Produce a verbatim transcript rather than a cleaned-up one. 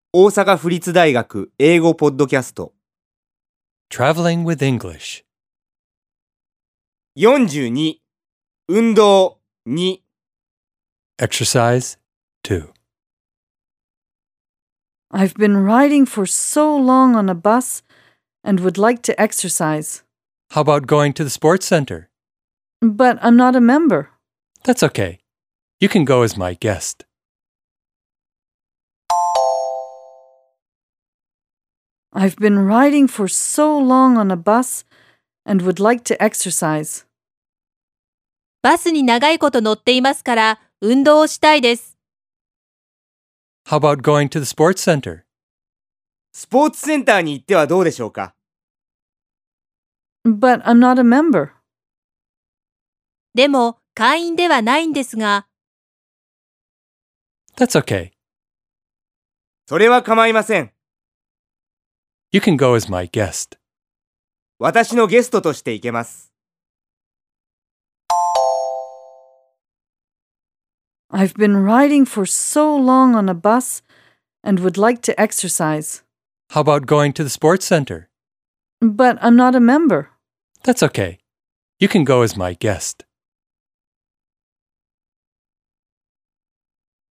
大阪府立大学英語ポッドキャスト Traveling with English. よんじゅうに運動に Exercise two. I've been riding for so long on a bus and would like to exercise. How about going to the sports center? But I'm not a member. That's okay. You can go as my guest. I've been riding for so long on a bus and would like to exercise. バスに長いこと乗っていますから運動をしたいです。 How about going to the sports center? スポーツセンターに行ってはどうでしょうか。 But I'm not a member. でも会員ではないんですが。 That's okay. それは構いません。 You can go as my guest. 私のゲストとして行けます。 I've been riding for so long on a bus and would like to exercise. How about going to the sports center? But I'm not a member. That's okay. You can go as my guest.